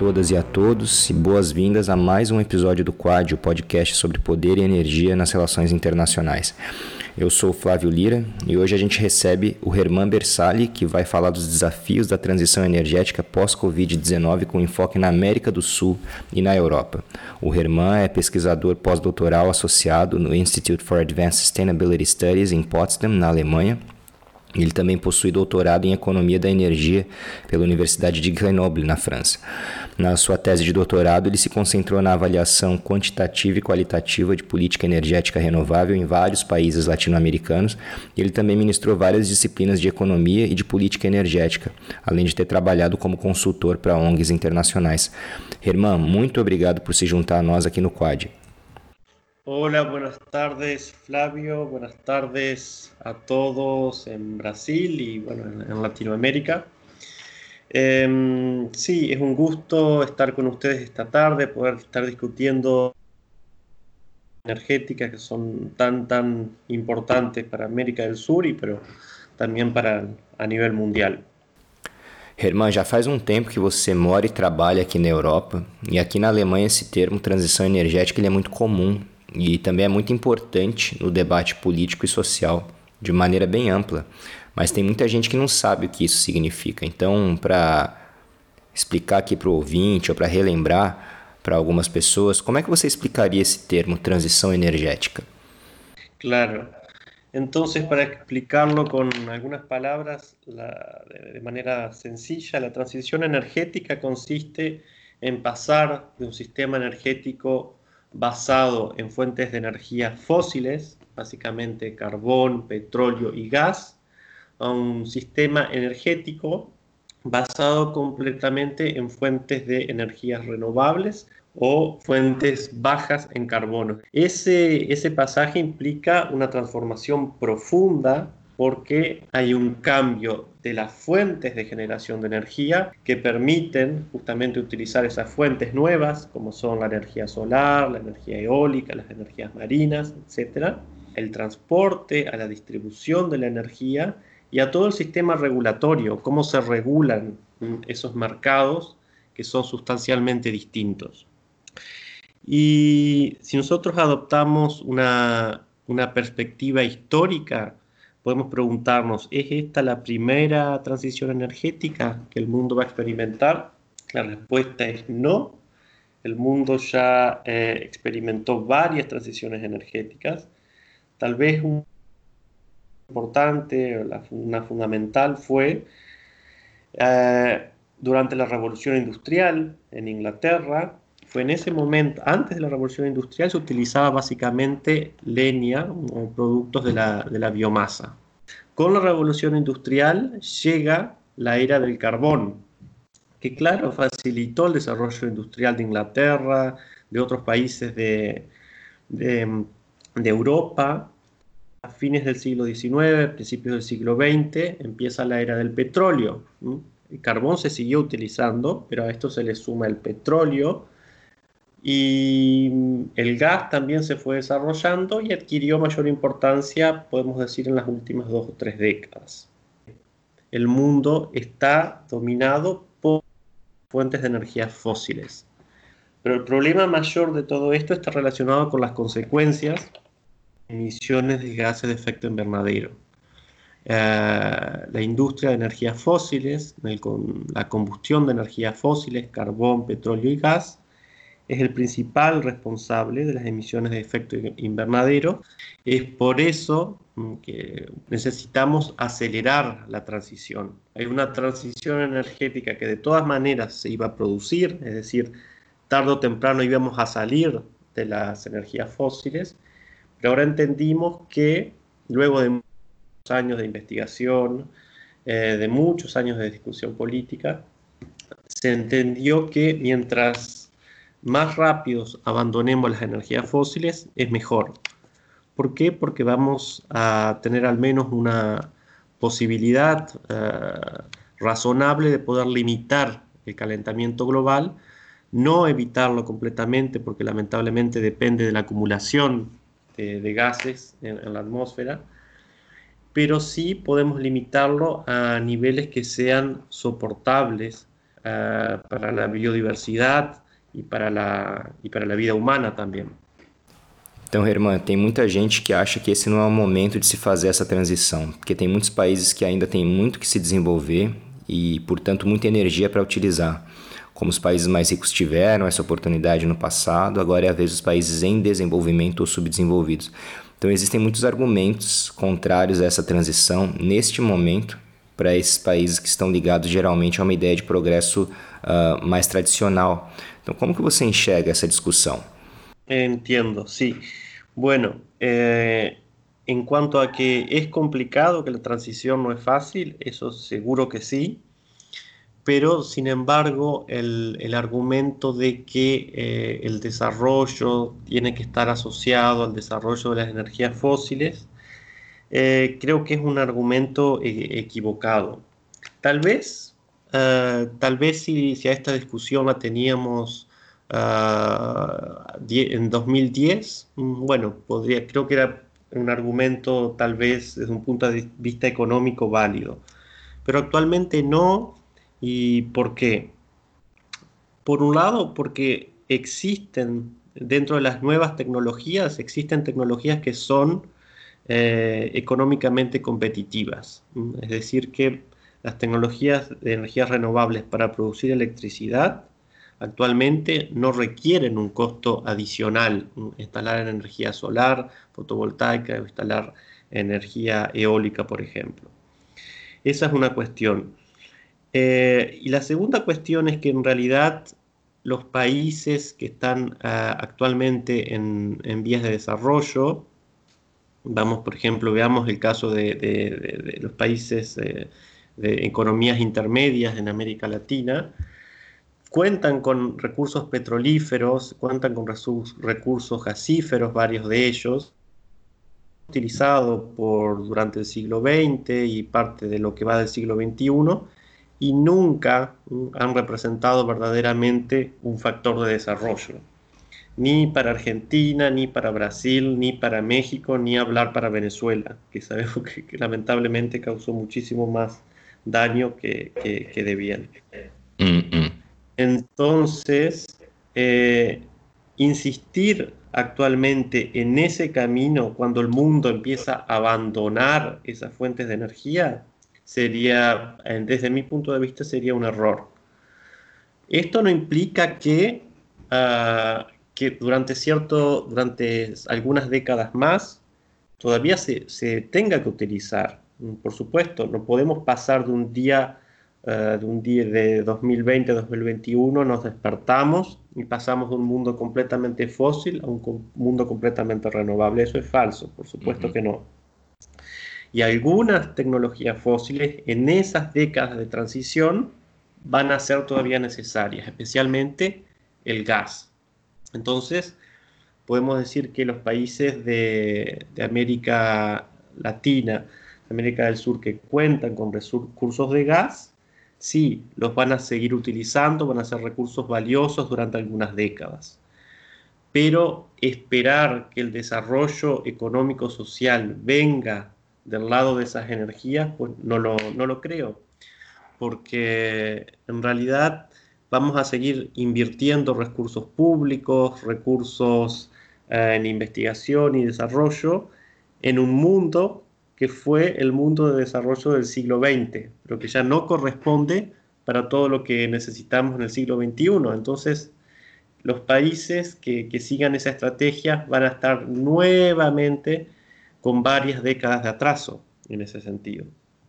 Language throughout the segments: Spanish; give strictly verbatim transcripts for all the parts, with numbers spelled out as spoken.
todas e a todos e boas-vindas a mais um episódio do Quad, o podcast sobre poder e energia nas relações internacionais. Eu sou o Flávio Lira e hoje a gente recebe o Herman Bersali, que vai falar dos desafios da transição energética pós-covid dezenove com enfoque na América do Sul e na Europa. O Herman é pesquisador pós-doutoral associado no Institute for Advanced Sustainability Studies em Potsdam, na Alemanha. Ele também possui doutorado em Economia da Energia pela Universidade de Grenoble, na França. Na sua tese de doutorado, ele se concentrou na avaliação quantitativa e qualitativa de política energética renovável em vários países latino-americanos. Ele também ministrou várias disciplinas de economia e de política energética, além de ter trabalhado como consultor para O N Gs internacionais. Herman, muito obrigado por se juntar a nós aqui no Quad. Hola, buenas tardes Flavio, buenas tardes a todos en Brasil y bueno, en Latinoamérica. Eh, sí, es un gusto estar con ustedes esta tarde, poder estar discutiendo energéticas que son tan, tan importantes para América del Sur y pero también para a nível mundial. Herman, já faz um tempo que você mora e trabalha aqui na Europa, e aqui na Alemanha esse termo transição energética ele é muito comum. E também é muito importante no debate político e social, de maneira bem ampla. Mas tem muita gente que não sabe o que isso significa. Então, para explicar aqui para o ouvinte ou para relembrar para algumas pessoas, como é que você explicaria esse termo transição energética? Claro. Entonces, para explicarlo con algunas palabras la, de, de manera sencilla, la transición energética consiste en pasar de un sistema energético basado en fuentes de energía fósiles, básicamente carbón, petróleo y gas, a un sistema energético basado completamente en fuentes de energías renovables o fuentes bajas en carbono. Ese, ese pasaje implica una transformación profunda porque hay un cambio de las fuentes de generación de energía que permiten justamente utilizar esas fuentes nuevas, como son la energía solar, la energía eólica, las energías marinas, etcétera, el transporte, a la distribución de la energía y a todo el sistema regulatorio, cómo se regulan esos mercados que son sustancialmente distintos. Y si nosotros adoptamos una, una perspectiva histórica, podemos preguntarnos, ¿es esta la primera transición energética que el mundo va a experimentar? La respuesta es no. El mundo ya eh, experimentó varias transiciones energéticas. Tal vez una importante, una fundamental fue eh, durante la Revolución Industrial en Inglaterra. Fue en ese momento, antes de la Revolución Industrial, se utilizaba básicamente leña o productos de la, de la biomasa. Con la Revolución Industrial llega la era del carbón, que claro, facilitó el desarrollo industrial de Inglaterra, de otros países de, de, de Europa. A fines del siglo diecinueve, principios del siglo veinte, empieza la era del petróleo. El carbón se siguió utilizando, pero a esto se le suma el petróleo, y el gas también se fue desarrollando y adquirió mayor importancia, podemos decir, en las últimas dos o tres décadas. El mundo está dominado por fuentes de energías fósiles. Pero el problema mayor de todo esto está relacionado con las consecuencias de emisiones de gases de efecto invernadero. Uh, la industria de energías fósiles, el, con, la combustión de energías fósiles, carbón, petróleo y gas, es el principal responsable de las emisiones de efecto invernadero. Es por eso que necesitamos acelerar la transición. Hay una transición energética que de todas maneras se iba a producir, es decir, tarde o temprano íbamos a salir de las energías fósiles, pero ahora entendimos que luego de muchos años de investigación, eh, de muchos años de discusión política, se entendió que mientras más rápidos abandonemos las energías fósiles, es mejor. ¿Por qué? Porque vamos a tener al menos una posibilidad uh, razonable de poder limitar el calentamiento global, no evitarlo completamente, porque lamentablemente depende de la acumulación de, de gases en, en la atmósfera, pero sí podemos limitarlo a niveles que sean soportables uh, para la biodiversidad y para la, y para la vida humana también. Então, Herman, tem muita gente que acha que esse não é o momento de se fazer essa transição, porque tem muitos países que ainda têm muito que se desenvolver e, portanto, muita energia para utilizar. Como os países mais ricos tiveram essa oportunidade no passado, agora é a vez dos países em desenvolvimento ou subdesenvolvidos. Então, existem muitos argumentos contrários a essa transição neste momento para esses países que estão ligados geralmente a uma ideia de progresso uh, mais tradicional. Então, como que você enxerga essa discussão? Entiendo, sí. Bueno, eh, en cuanto a que es complicado, que la transición no es fácil, eso seguro que sí, pero sin embargo el, el argumento de que eh, el desarrollo tiene que estar asociado al desarrollo de las energías fósiles, eh, creo que es un argumento eh, equivocado. Tal vez, uh, tal vez si, si a esta discusión la teníamos Uh, en dos mil diez, bueno, podría, creo que era un argumento tal vez desde un punto de vista económico válido, pero actualmente no. ¿Y por qué? Por un lado, porque existen dentro de las nuevas tecnologías, existen tecnologías que son eh, económicamente competitivas, es decir, que las tecnologías de energías renovables para producir electricidad actualmente no requieren un costo adicional, instalar energía solar, fotovoltaica o instalar energía eólica, por ejemplo. Esa es una cuestión. Eh, y la segunda cuestión es que en realidad los países que están uh, actualmente en, en vías de desarrollo, vamos, por ejemplo, veamos el caso de, de, de, de los países eh, de economías intermedias en América Latina, cuentan con recursos petrolíferos, cuentan con recursos gasíferos, varios de ellos, utilizados por, durante el siglo veinte y parte de lo que va del siglo veintiuno, y nunca han representado verdaderamente un factor de desarrollo. Ni para Argentina, ni para Brasil, ni para México, ni hablar para Venezuela, que sabemos que, que lamentablemente causó muchísimo más daño que, que, que de bien. Mm-mm. Entonces, eh, insistir actualmente en ese camino cuando el mundo empieza a abandonar esas fuentes de energía sería, desde mi punto de vista, sería un error. Esto no implica que, uh, que durante, cierto, durante algunas décadas más todavía se, se tenga que utilizar. Por supuesto, no podemos pasar de un día Uh, de un día de dos mil veinte a dos mil veintiuno nos despertamos y pasamos de un mundo completamente fósil a un co- mundo completamente renovable. Eso es falso, por supuesto uh-huh. que no. Y algunas tecnologías fósiles en esas décadas de transición van a ser todavía necesarias, especialmente el gas. Entonces, podemos decir que los países de, de América Latina, América del Sur, que cuentan con recursos de gas, sí, los van a seguir utilizando, van a ser recursos valiosos durante algunas décadas. Pero esperar que el desarrollo económico-social venga del lado de esas energías, pues no lo, no lo creo. Porque en realidad vamos a seguir invirtiendo recursos públicos, recursos eh, en investigación y desarrollo en un mundo que fue el mundo de desarrollo del siglo veinte, pero que ya no corresponde para todo lo que necesitamos en el siglo veintiuno. Entonces, los países que, que sigan esa estrategia van a estar nuevamente con varias décadas de atraso en esse sentido.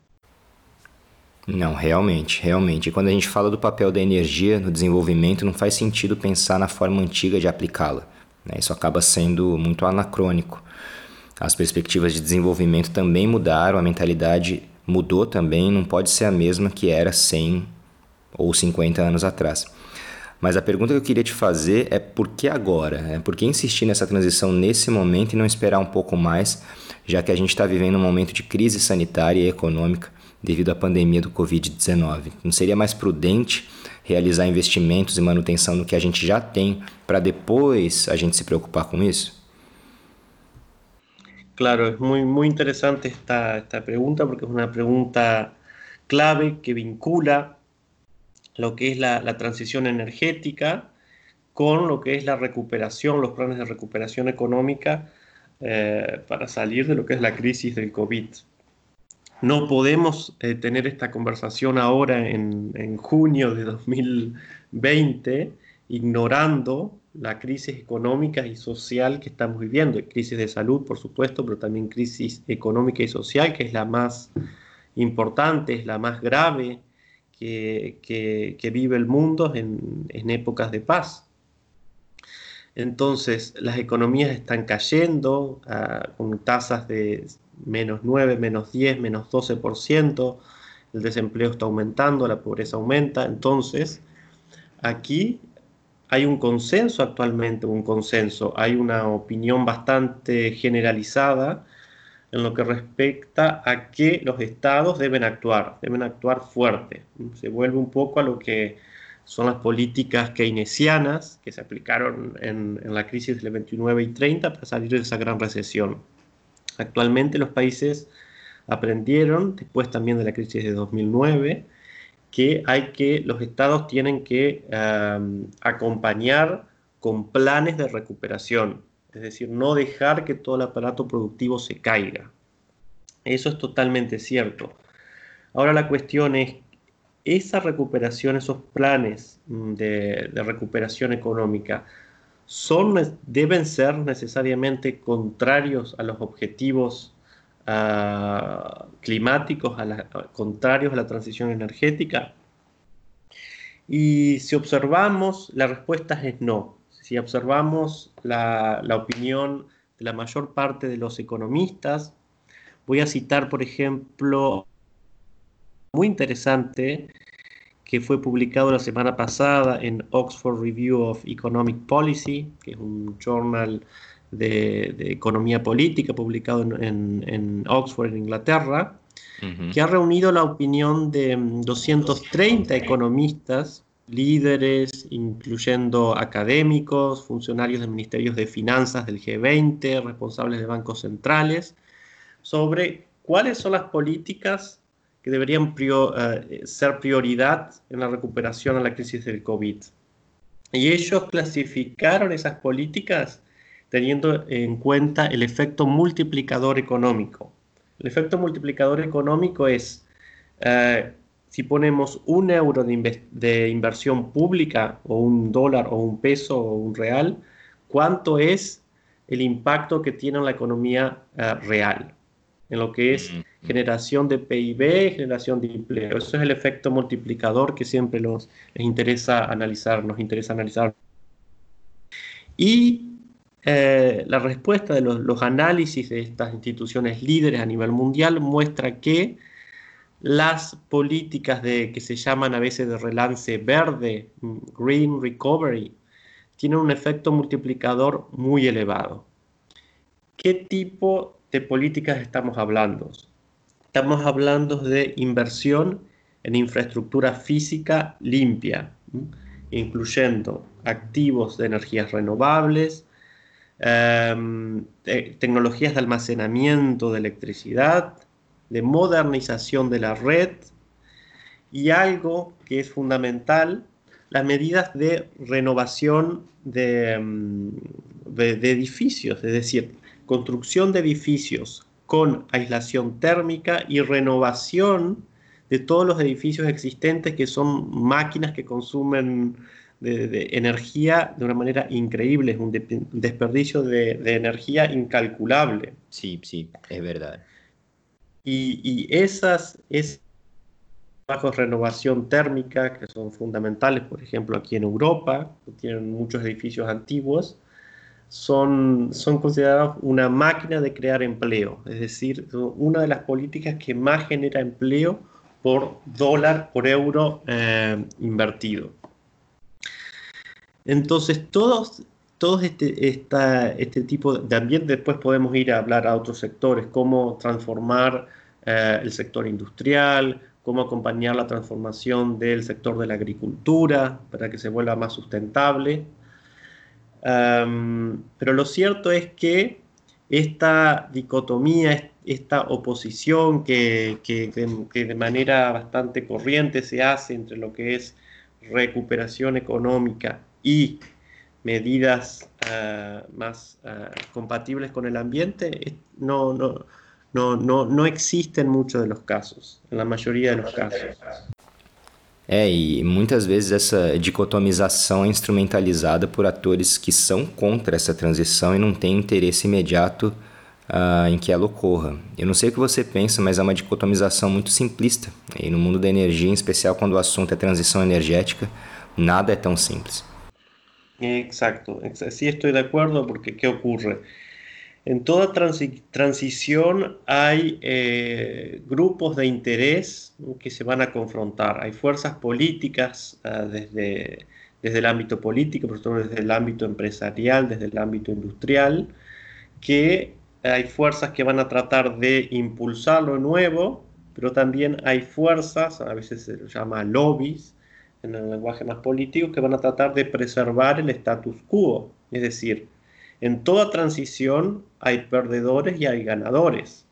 Não, realmente, realmente. E quando a gente fala do papel da energia no desenvolvimento, não faz sentido pensar na forma antiga de aplicá-la, né? Isso acaba sendo muito anacrônico. As perspectivas de desenvolvimento também mudaram, a mentalidade mudou também, não pode ser a mesma que era cem ou cinquenta anos atrás. Mas a pergunta que eu queria te fazer é por que agora? É por que insistir nessa transição nesse momento e não esperar um pouco mais, já que a gente está vivendo um momento de crise sanitária e econômica devido à pandemia do covid dezenove? Não seria mais prudente realizar investimentos e manutenção no que a gente já tem para depois a gente se preocupar com isso? Claro, es muy, muy interesante esta, esta pregunta porque es una pregunta clave que vincula lo que es la, la transición energética con lo que es la recuperación, los planes de recuperación económica eh, para salir de lo que es la crisis del COVID. No podemos eh, tener esta conversación ahora en, en junio de dos mil veinte ignorando la crisis económica y social que estamos viviendo. Hay crisis de salud, por supuesto, pero también crisis económica y social, que es la más importante, es la más grave que, que, que vive el mundo en, en épocas de paz. Entonces, las economías están cayendo uh, con tasas de menos nueve, menos diez, menos doce por ciento. El desempleo está aumentando, la pobreza aumenta. Entonces, aquí hay un consenso actualmente, un consenso, hay una opinión bastante generalizada en lo que respecta a que los estados deben actuar, deben actuar fuerte. Se vuelve un poco a lo que son las políticas keynesianas que se aplicaron en, en la crisis del veintinueve y treinta para salir de esa gran recesión. Actualmente los países aprendieron, después también de la crisis de dos mil nueve, que hay que, los estados tienen que um, acompañar con planes de recuperación, es decir, no dejar que todo el aparato productivo se caiga. Eso es totalmente cierto. Ahora la cuestión es, esa recuperación, esos planes de, de recuperación económica, son, deben ser necesariamente contrarios a los objetivos uh, climáticos, a la, contrarios a la transición energética. Y si observamos, la respuesta es no. Si observamos la, la opinión de la mayor parte de los economistas, voy a citar, por ejemplo, muy interesante que fue publicado la semana pasada en Oxford Review of Economic Policy, que es un journal de, de economía política publicado en, en, en Oxford, en Inglaterra, uh-huh. que ha reunido la opinión de doscientos treinta economistas, líderes, incluyendo académicos, funcionarios de ministerios de finanzas del G veinte, responsables de bancos centrales, sobre cuáles son las políticas que deberían prior, uh, ser prioridad en la recuperación a la crisis del COVID. Y ellos clasificaron esas políticas teniendo en cuenta el efecto multiplicador económico. El efecto multiplicador económico es, uh, si ponemos un euro de, de inversión pública, o un dólar, o un peso, o un real, ¿cuánto es el impacto que tiene en la economía uh, real? En lo que es generación de P I B, generación de empleo. Eso es el efecto multiplicador que siempre los, les interesa analizar, nos interesa analizar. Y eh, la respuesta de los, los análisis de estas instituciones líderes a nivel mundial muestra que las políticas de, que se llaman a veces de relance verde, Green Recovery, tienen un efecto multiplicador muy elevado. ¿Qué tipo de políticas estamos hablando? Estamos hablando de inversión en infraestructura física limpia, incluyendo activos de energías renovables, eh, te tecnologías de almacenamiento de electricidad, de modernización de la red y algo que es fundamental, las medidas de renovación de, de, de edificios, es decir, construcción de edificios con aislación térmica y renovación de todos los edificios existentes, que son máquinas que consumen de, de energía de una manera increíble, es un, de, un desperdicio de, de energía incalculable. Sí, sí, es verdad. Y, y esas, esas trabajos de renovación térmica, que son fundamentales, por ejemplo, aquí en Europa, que tienen muchos edificios antiguos, Son, son considerados una máquina de crear empleo, es decir, una de las políticas que más genera empleo por dólar, por euro eh, invertido. Entonces, todos, todos este, esta, este tipo de también después podemos ir a hablar a otros sectores, cómo transformar eh, el sector industrial, cómo acompañar la transformación del sector de la agricultura para que se vuelva más sustentable. Um, pero lo cierto es que esta dicotomía, esta oposición que, que, que de manera bastante corriente se hace entre lo que es recuperación económica y medidas uh, más uh, compatibles con el ambiente, no, no, no, no, no existen muchos de los casos, en la mayoría de los casos. É, e muitas vezes essa dicotomização é instrumentalizada por atores que são contra essa transição e não têm interesse imediato uh, em que ela ocorra. Eu não sei o que você pensa, mas é uma dicotomização muito simplista. E no mundo da energia, em especial quando o assunto é transição energética, nada é tão simples. Exacto, sí estoy de acuerdo, porque ¿qué ocurre? En toda transi transición hay eh, grupos de interés que se van a confrontar. Hay fuerzas políticas uh, desde, desde el ámbito político, pero sobre todo desde el ámbito empresarial, desde el ámbito industrial, que hay fuerzas que van a tratar de impulsar lo nuevo, pero también hay fuerzas, a veces se llama lobbies, en el lenguaje más político, que van a tratar de preservar el status quo. Es decir, en toda transición hay perdedores y hay ganadores.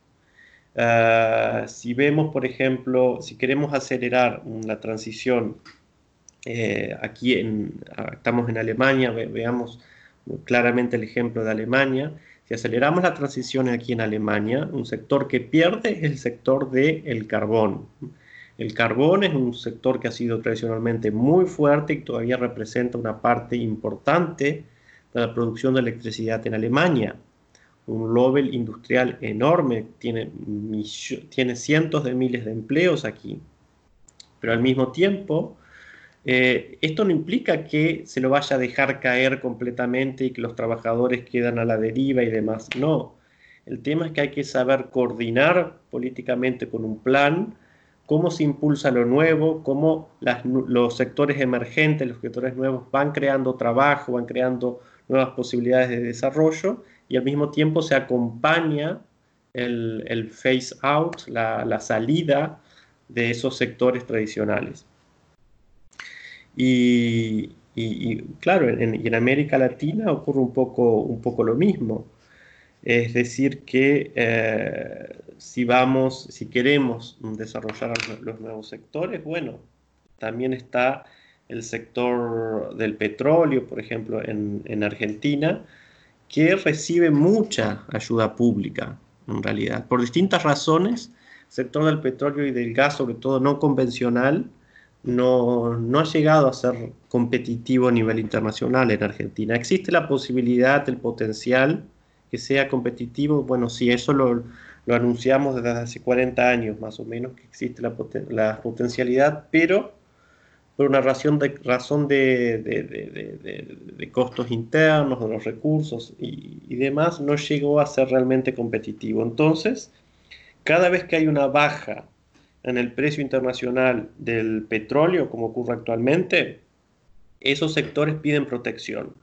Uh, si vemos, por ejemplo, si queremos acelerar una transición, eh, aquí en, estamos en Alemania, ve, veamos claramente el ejemplo de Alemania. Si aceleramos la transición aquí en Alemania, un sector que pierde es el sector del carbón. El carbón es un sector que ha sido tradicionalmente muy fuerte y todavía representa una parte importante de la producción de electricidad en Alemania. Un lobby industrial enorme, tiene, tiene cientos de miles de empleos aquí. Pero al mismo tiempo, eh, esto no implica que se lo vaya a dejar caer completamente y que los trabajadores quedan a la deriva y demás. No, el tema es que hay que saber coordinar políticamente con un plan cómo se impulsa lo nuevo, cómo las, los sectores emergentes, los sectores nuevos van creando trabajo, van creando nuevas posibilidades de desarrollo, y al mismo tiempo se acompaña el, el phase out, la, la salida de esos sectores tradicionales. Y, y, y claro, en, y en América Latina ocurre un poco, un poco lo mismo. Es decir, que eh, si vamos, si queremos desarrollar los nuevos sectores, bueno, también está el sector del petróleo, por ejemplo, en, en Argentina, que recibe mucha ayuda pública, en realidad, por distintas razones. El sector del petróleo y del gas, sobre todo no convencional, no, no ha llegado a ser competitivo a nivel internacional en Argentina. Existe la posibilidad, el potencial que sea competitivo. Bueno, sí, eso lo, lo anunciamos desde hace cuarenta años más o menos, que existe la, poten la potencialidad, pero por una razón de, razón de, de, de, de, de costos internos, de los recursos y, y demás, no llegó a ser realmente competitivo. Entonces, cada vez que hay una baja en el precio internacional del petróleo, como ocurre actualmente, esos sectores piden protección.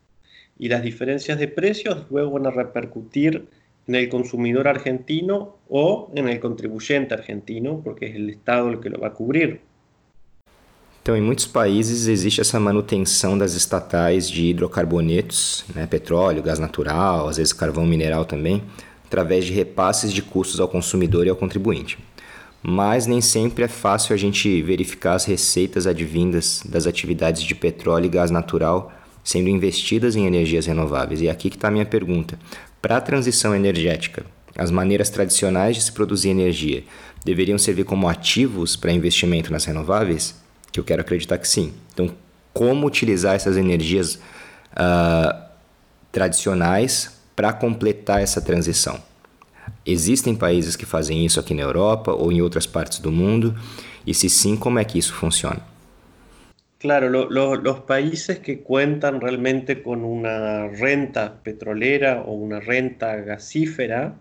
Y las diferencias de precios luego van a repercutir en el consumidor argentino o en el contribuyente argentino, porque es el Estado el que lo va a cubrir. Então, em muitos países existe essa manutenção das estatais de hidrocarbonetos, né, petróleo, gás natural, às vezes carvão mineral também, através de repasses de custos ao consumidor e ao contribuinte. Mas nem sempre é fácil a gente verificar as receitas advindas das atividades de petróleo e gás natural sendo investidas em energias renováveis. E aqui que está a minha pergunta. Para a transição energética, as maneiras tradicionais de se produzir energia deveriam servir como ativos para investimento nas renováveis? Que eu quero acreditar que sim. Então, como utilizar essas energias uh, tradicionais para completar essa transição? Existem países que fazem isso aqui na Europa ou em outras partes do mundo? E se sim, como é que isso funciona? Claro, lo, lo, los países que cuentan realmente con una renta petrolera o una renta gasífera,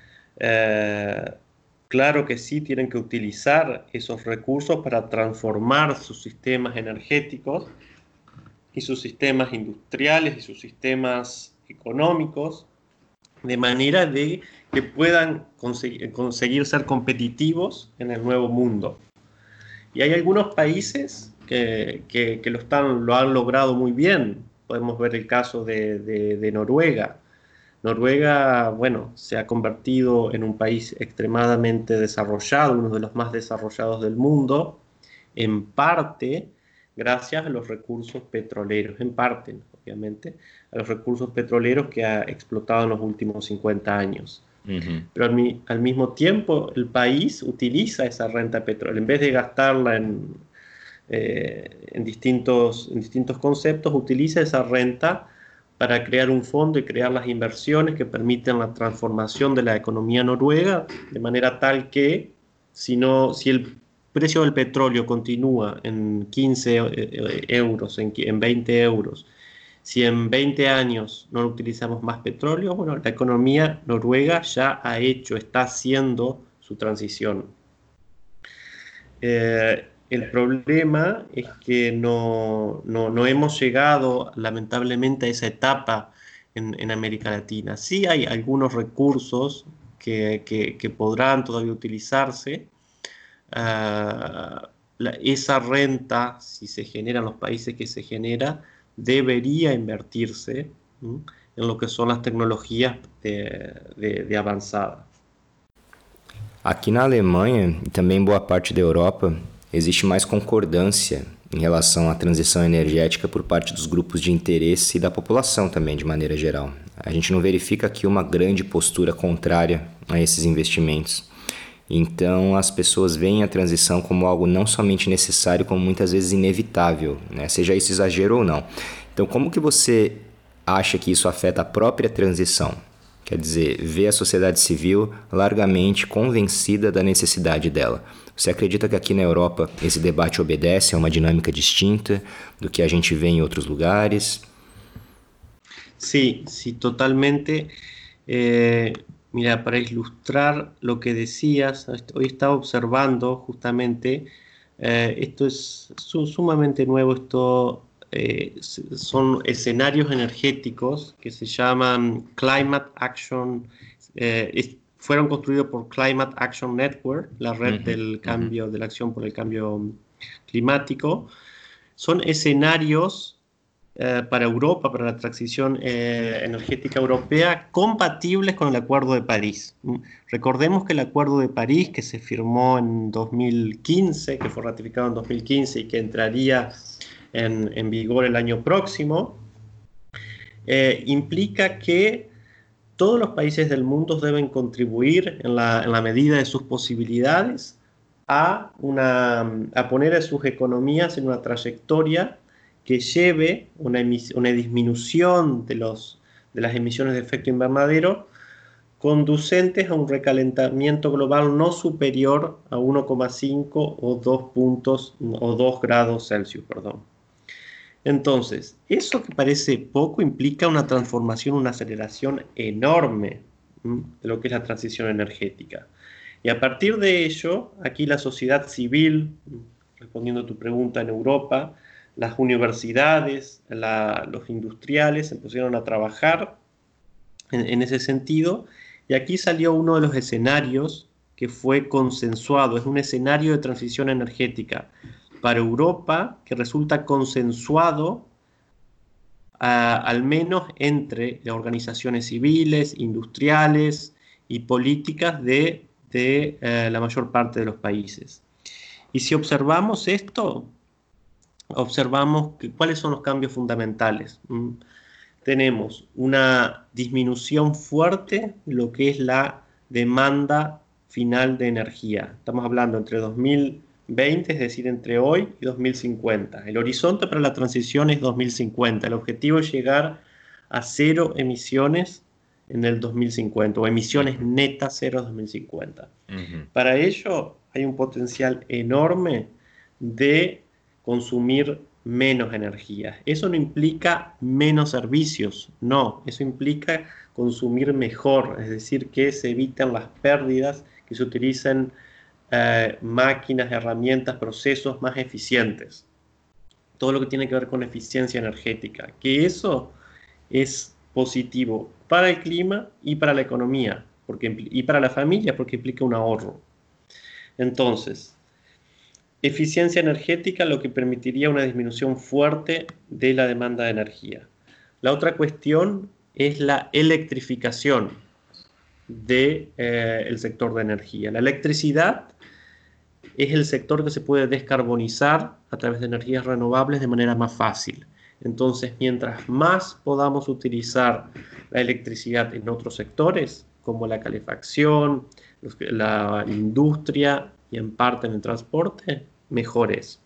eh, claro que sí tienen que utilizar esos recursos para transformar sus sistemas energéticos y sus sistemas industriales y sus sistemas económicos, de manera de que puedan conseguir, conseguir ser competitivos en el nuevo mundo. Y hay algunos países que, que, que lo, están, lo han logrado muy bien. Podemos ver el caso de, de, de Noruega. Noruega, bueno, se ha convertido en un país extremadamente desarrollado, uno de los más desarrollados del mundo, en parte gracias a los recursos petroleros, en parte, obviamente, a los recursos petroleros que ha explotado en los últimos cincuenta años. Uh-huh. Pero al, mi, al mismo tiempo, el país utiliza esa renta petrolera, en vez de gastarla en, eh, en, distintos, en distintos conceptos, utiliza esa renta para crear un fondo y crear las inversiones que permiten la transformación de la economía noruega, de manera tal que si, no, si el precio del petróleo continúa en quince euros, en, en veinte euros, si en veinte años no utilizamos más petróleo, bueno, la economía noruega ya ha hecho, está haciendo su transición. Eh, el problema es que no, no, no hemos llegado, lamentablemente, a esa etapa en, en América Latina. Sí hay algunos recursos que, que, que podrán todavía utilizarse. Uh, la, esa renta, si se genera en los países que se genera, debería invertirse ¿m? en lo que son las tecnologías de, de, de avançada. Aqui na Alemanha e também em boa parte da Europa, existe mais concordância em relação à transição energética por parte dos grupos de interesse e da população também, de maneira geral. A gente não verifica aqui uma grande postura contrária a esses investimentos. Então, as pessoas veem a transição como algo não somente necessário, como muitas vezes inevitável, né? Seja isso exagero ou não. Então, como que você acha que isso afeta a própria transição? Quer dizer, ver a sociedade civil largamente convencida da necessidade dela. Você acredita que aqui na Europa esse debate obedece a uma dinâmica distinta do que a gente vê em outros lugares? Sí, sí, totalmente. Eh... Mira, para ilustrar lo que decías, hoy estaba observando justamente, eh, esto es su, sumamente nuevo, esto eh, son escenarios energéticos que se llaman Climate Action, eh, es, fueron construidos por Climate Action Network, la red uh-huh, del cambio, uh-huh. de la acción por el cambio climático. Son escenarios Eh, para Europa, para la transición eh, energética europea, compatibles con el Acuerdo de París. Recordemos que el Acuerdo de París, que se firmó en dos mil quince, que fue ratificado en dos mil quince y que entraría en, en vigor el año próximo, eh, implica que todos los países del mundo deben contribuir en la, en la medida de sus posibilidades a, una, a poner a sus economías en una trayectoria que lleve una, una disminución de, los, de las emisiones de efecto invernadero conducentes a un recalentamiento global no superior a uno coma cinco o dos puntos o dos grados Celsius, perdón. Entonces, eso que parece poco implica una transformación, una aceleración enorme ¿m? de lo que es la transición energética. Y a partir de ello, aquí la sociedad civil, respondiendo a tu pregunta, en Europa, las universidades, la, los industriales se pusieron a trabajar en, en ese sentido, y aquí salió uno de los escenarios que fue consensuado, es un escenario de transición energética para Europa que resulta consensuado uh, al menos entre las organizaciones civiles, industriales y políticas de, de uh, la mayor parte de los países. Y si observamos esto, observamos que, cuáles son los cambios fundamentales. ¿Mm? Tenemos una disminución fuerte de lo que es la demanda final de energía. Estamos hablando entre dos mil veinte, es decir, entre hoy y dos mil cincuenta. El horizonte para la transición es dos mil cincuenta. El objetivo es llegar a cero emisiones en el dos mil cincuenta, o emisiones netas cero en dos mil cincuenta. Uh-huh. Para ello hay un potencial enorme de consumir menos energía. Eso no implica menos servicios, no, eso implica consumir mejor, es decir, que se eviten las pérdidas, que se utilicen eh, máquinas, herramientas, procesos más eficientes. Todo lo que tiene que ver con eficiencia energética, que eso es positivo para el clima y para la economía, porque, y para la familia, porque implica un ahorro. Entonces, eficiencia energética, lo que permitiría una disminución fuerte de la demanda de energía. La otra cuestión es la electrificación del de, eh, sector de energía. La electricidad es el sector que se puede descarbonizar a través de energías renovables de manera más fácil. Entonces, mientras más podamos utilizar la electricidad en otros sectores, como la calefacción, la industria y en parte en el transporte, mejor es.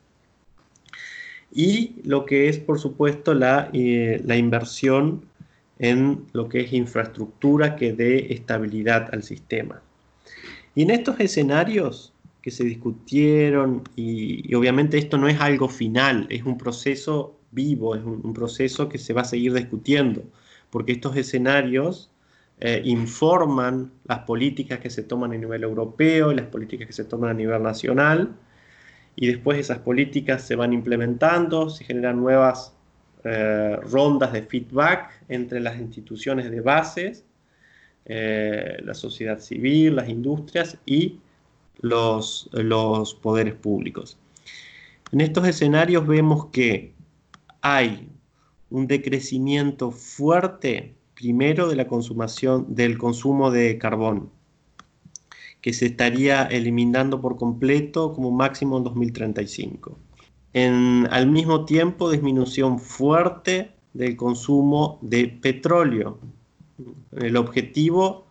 Y lo que es, por supuesto, la, eh, la inversión en lo que es infraestructura que dé estabilidad al sistema. Y en estos escenarios que se discutieron, y, y obviamente esto no es algo final, es un proceso vivo, es un, un proceso que se va a seguir discutiendo, porque estos escenarios eh, informan las políticas que se toman a nivel europeo y las políticas que se toman a nivel nacional, y después esas políticas se van implementando, se generan nuevas eh, rondas de feedback entre las instituciones de bases, eh, la sociedad civil, las industrias y los, los poderes públicos. En estos escenarios vemos que hay un decrecimiento fuerte, primero, de la consumación, del consumo de carbón, que se estaría eliminando por completo como máximo en dos mil treinta y cinco. En, al mismo tiempo, disminución fuerte del consumo de petróleo. El objetivo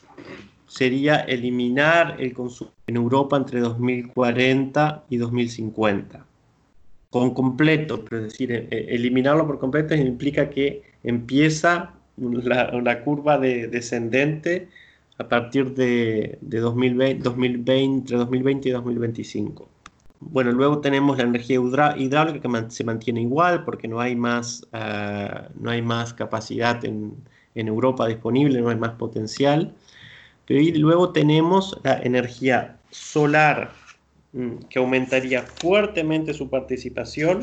sería eliminar el consumo en Europa entre dos mil cuarenta y dos mil cincuenta. Con completo, es decir, eliminarlo por completo implica que empieza la, la curva de, descendente a partir de, de dos mil veinte, dos mil veinte, entre dos mil veinte y dos mil veinticinco. Bueno, luego tenemos la energía hidráulica que man, se mantiene igual porque no hay más, uh, no hay más capacidad en, en Europa disponible, no hay más potencial. Pero y luego tenemos la energía solar, que aumentaría fuertemente su participación.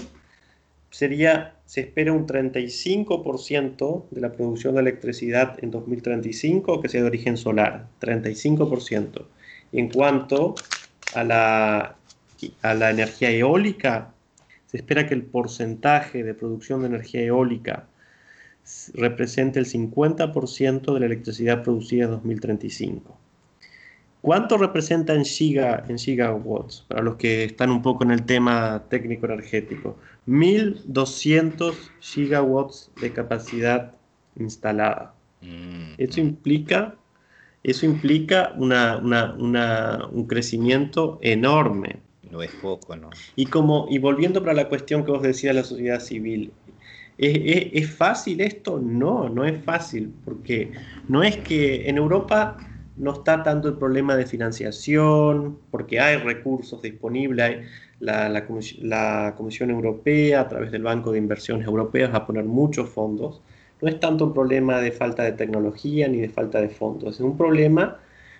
Sería, se espera un treinta y cinco por ciento de la producción de electricidad en dos mil treinta y cinco que sea de origen solar, treinta y cinco por ciento. En cuanto a la, a la energía eólica, se espera que el porcentaje de producción de energía eólica represente el cincuenta por ciento de la electricidad producida en dos mil treinta y cinco. ¿Cuánto representa en, giga, en gigawatts? Para los que están un poco en el tema técnico energético. mil doscientos gigawatts de capacidad instalada. Mm. Eso implica, eso implica una, una, una, un crecimiento enorme. No es poco, ¿no? Y, como, y volviendo para la cuestión que vos decías de la sociedad civil, ¿es, es, ¿es fácil esto? No, no es fácil, porque no es que en Europa no está tanto el problema de financiación, porque hay recursos disponibles, hay la, la, la Comisión Europea a través del Banco de Inversiones Europeas va a poner muchos fondos. No es tanto un problema de falta de tecnología ni de falta de fondos, es un problema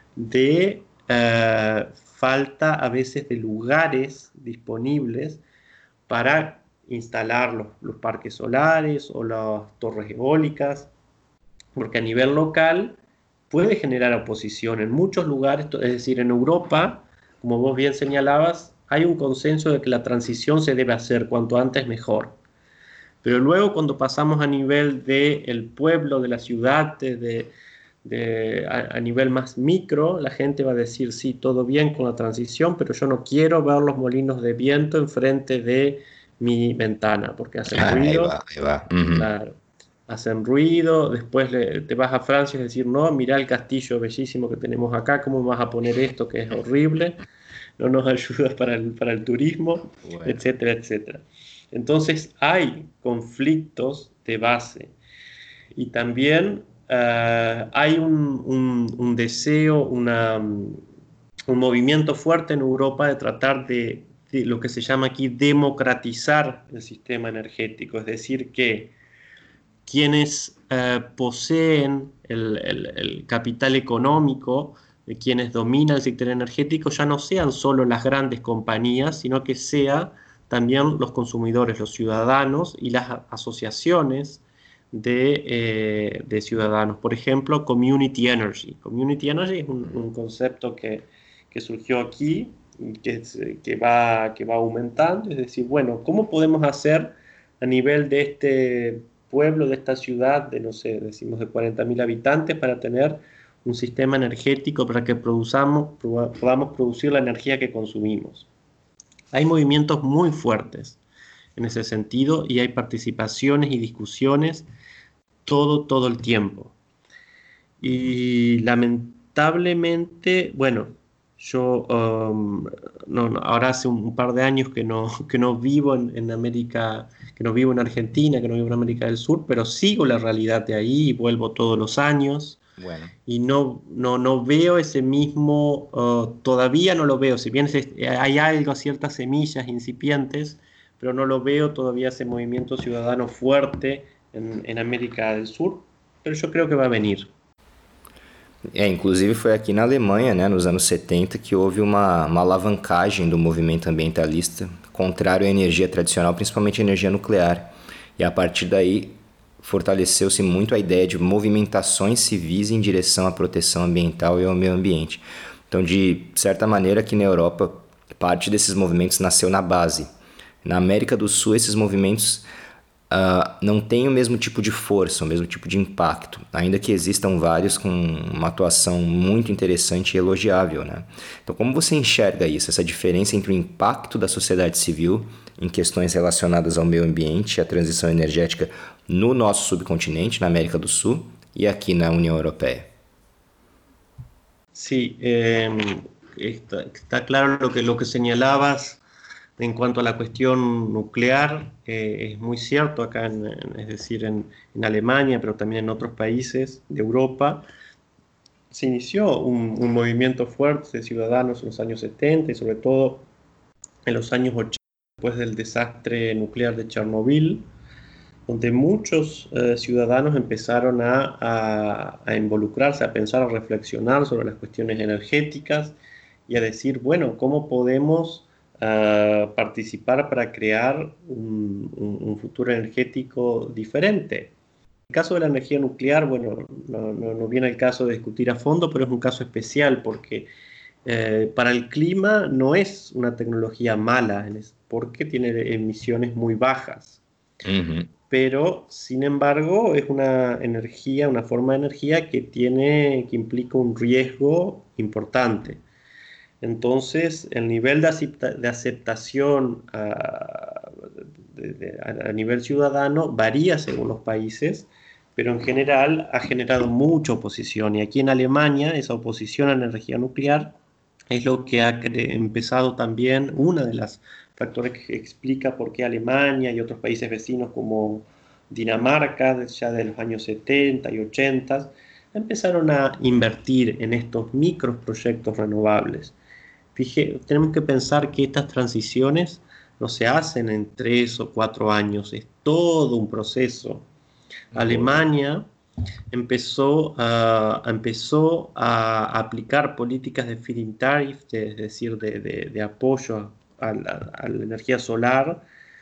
de uh, falta a veces de lugares disponibles para instalar los, los parques solares o las torres eólicas, porque a nivel local puede generar oposición en muchos lugares, es decir, en Europa, como vos bien señalabas, hay un consenso de que la transición se debe hacer cuanto antes mejor. Pero luego cuando pasamos a nivel del pueblo, de la ciudad, de, de, a, a nivel más micro, la gente va a decir, sí, todo bien con la transición, pero yo no quiero ver los molinos de viento enfrente de mi ventana, porque hacen ah, ruido. Ahí va, ahí va. Uh-huh. Claro. Hacen ruido, después le, te vas a Francia y decir, no, mirá el castillo bellísimo que tenemos acá, ¿cómo vas a poner esto que es horrible? No nos ayuda para el, para el turismo, bueno. etcétera, etcétera. Entonces hay conflictos de base y también uh, hay un, un, un deseo, una, un movimiento fuerte en Europa de tratar de, de lo que se llama aquí democratizar el sistema energético, es decir que quienes eh, poseen el, el, el capital económico, de quienes dominan el sector energético, ya no sean solo las grandes compañías, sino que sea también los consumidores, los ciudadanos y las asociaciones de, eh, de ciudadanos. Por ejemplo, Community Energy. Community Energy es un, un concepto que, que surgió aquí y que, que, va, que va aumentando. Es decir, bueno, ¿cómo podemos hacer a nivel de este pueblo, de esta ciudad, de no sé, decimos de cuarenta mil habitantes, para tener un sistema energético para que produzamos, podamos producir la energía que consumimos. Hay movimientos muy fuertes en ese sentido y hay participaciones y discusiones todo, todo el tiempo. Y lamentablemente, bueno, yo um, no, no, ahora hace un, un par de años que no, que no vivo en, en América, que no vivo en Argentina, que no vivo en América del Sur, pero sigo la realidad de ahí y vuelvo todos los años. Bueno. Y no, no, no veo ese mismo, uh, todavía no lo veo, si bien es, hay algo, ciertas semillas incipientes, pero no lo veo todavía ese movimiento ciudadano fuerte en, en América del Sur, pero yo creo que va a venir. É, inclusive foi aqui na Alemanha, né, nos anos setenta, que houve uma, uma alavancagem do movimento ambientalista, contrário à energia tradicional, principalmente à energia nuclear. E a partir daí fortaleceu-se muito a ideia de movimentações civis em direção à proteção ambiental e ao meio ambiente. Então, de certa maneira, aqui na Europa, parte desses movimentos nasceu na base. Na América do Sul, esses movimentos Uh, não tem o mesmo tipo de força, o mesmo tipo de impacto, ainda que existam vários com uma atuação muito interessante e elogiável, né? Então, como você enxerga isso, essa diferença entre o impacto da sociedade civil em questões relacionadas ao meio ambiente e à transição energética no nosso subcontinente, na América do Sul, e aqui na União Europeia? Sí, eh, está, está claro lo que, lo que señalabas. En cuanto a la cuestión nuclear, eh, es muy cierto acá, en, en, es decir, en, en Alemania, pero también en otros países de Europa, se inició un, un movimiento fuerte de ciudadanos en los años setenta y sobre todo en los años ochenta, después del desastre nuclear de Chernobyl, donde muchos eh, ciudadanos empezaron a, a, a involucrarse, a pensar, a reflexionar sobre las cuestiones energéticas y a decir, bueno, ¿cómo podemos Uh, participar para crear un, un, un futuro energético diferente? En el caso de la energía nuclear, bueno, no, no, no viene el caso de discutir a fondo, pero es un caso especial porque eh, para el clima no es una tecnología mala, porque tiene emisiones muy bajas. Uh-huh. Pero, sin embargo, es una energía, una forma de energía que, tiene, que implica un riesgo importante. Entonces, el nivel de, acepta, de aceptación a, de, de, a nivel ciudadano varía según los países, pero en general ha generado mucha oposición. Y aquí en Alemania, esa oposición a la energía nuclear es lo que ha empezado también, una de las factores que explica por qué Alemania y otros países vecinos como Dinamarca, ya de los años setenta y ochenta, empezaron a invertir en estos microproyectos renovables. Fije, tenemos que pensar que estas transiciones no se hacen en tres o cuatro años, es todo un proceso. Uh-huh. Alemania empezó a, empezó a aplicar políticas de feed-in tariff, de, es decir, de, de, de apoyo a la, a la energía solar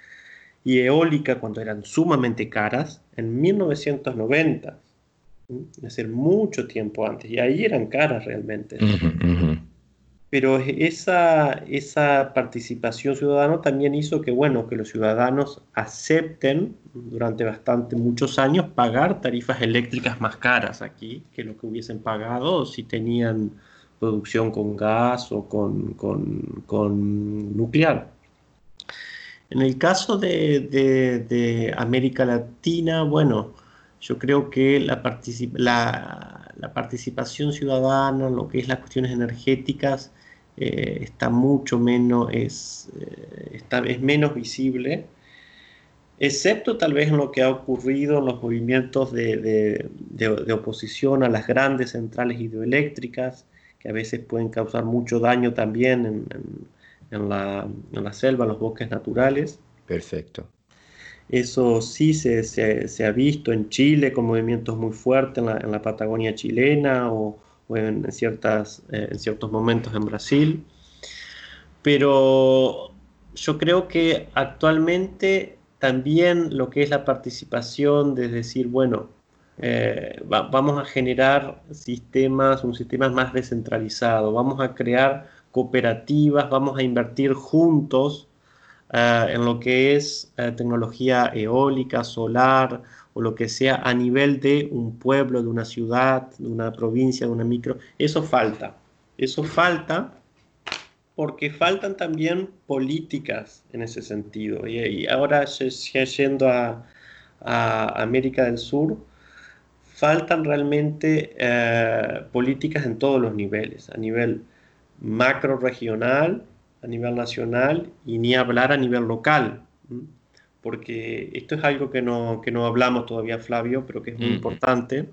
y eólica cuando eran sumamente caras, en mil novecientos noventa, es decir, mucho tiempo antes, y ahí eran caras realmente. Uh-huh, uh-huh. Pero esa, esa participación ciudadana también hizo que, bueno, que los ciudadanos acepten durante bastante muchos años pagar tarifas eléctricas más caras aquí que lo que hubiesen pagado si tenían producción con gas o con, con, con nuclear. En el caso de, de, de América Latina, bueno, yo creo que la, particip la, la participación ciudadana en lo que es las cuestiones energéticas eh, está mucho menos, es, eh, está, es menos visible, excepto tal vez en lo que ha ocurrido en los movimientos de, de, de, de oposición a las grandes centrales hidroeléctricas, que a veces pueden causar mucho daño también en, en, en, la, en la selva, en los bosques naturales. Perfecto. Eso sí se, se, se ha visto en Chile con movimientos muy fuertes en la, en la Patagonia chilena o, o en, ciertas, eh, en ciertos momentos en Brasil. Pero yo creo que actualmente también lo que es la participación de decir, bueno, eh, va, vamos a generar sistemas, un sistema más descentralizado, vamos a crear cooperativas, vamos a invertir juntos Uh, en lo que es uh, tecnología eólica, solar o lo que sea a nivel de un pueblo, de una ciudad, de una provincia, de una micro. Eso falta. Eso falta porque faltan también políticas en ese sentido. Y, y ahora yendo a, a América del Sur, faltan realmente eh, políticas en todos los niveles, a nivel macro regional, a nivel nacional y ni hablar a nivel local. Porque esto es algo que no, que no hablamos todavía, Flavio, pero que es muy uh-huh. importante.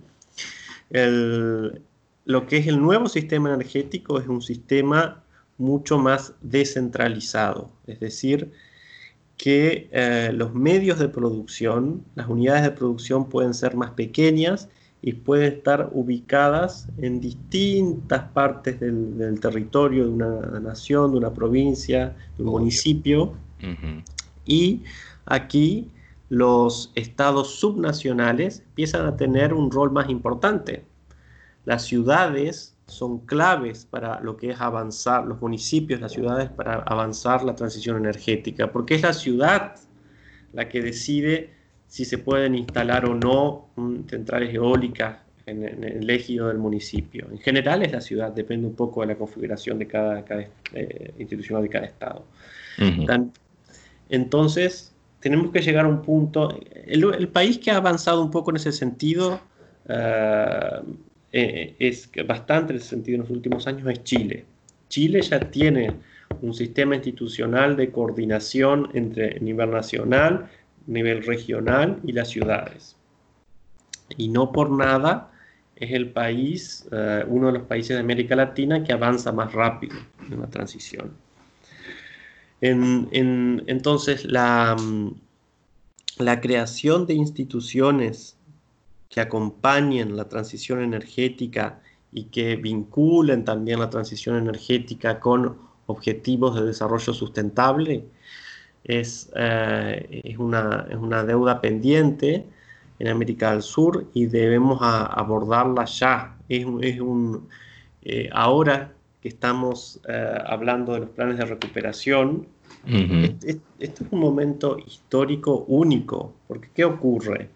El, lo que es el nuevo sistema energético es un sistema mucho más descentralizado, es decir, que eh, los medios de producción, las unidades de producción pueden ser más pequeñas y pueden estar ubicadas en distintas partes del, del territorio de una nación, de una provincia, de un municipio. Uh-huh. Y aquí los estados subnacionales empiezan a tener un rol más importante. Las ciudades son claves para lo que es avanzar, los municipios, las ciudades, para avanzar la transición energética, porque es la ciudad la que decide si se pueden instalar o no um, centrales eólicas en, en el ejido del municipio. En general es la ciudad, depende un poco de la configuración de cada, cada eh, institucional de cada estado. Uh-huh. Tan, entonces, tenemos que llegar a un punto, el, el país que ha avanzado un poco en ese sentido, uh, eh, es bastante en ese sentido en los últimos años, es Chile. Chile ya tiene un sistema institucional de coordinación entre nivel nacional, nivel regional y las ciudades. Y no por nada es el país, uh, uno de los países de América Latina que avanza más rápido en la transición. En, en, entonces, la, la creación de instituciones que acompañen la transición energética y que vinculen también la transición energética con objetivos de desarrollo sustentable es, eh, es, una, es una deuda pendiente en América del Sur y debemos a, abordarla ya. Es, es un, eh, ahora que estamos eh, hablando de los planes de recuperación, uh-huh. este, este es un momento histórico único, porque ¿qué ocurre?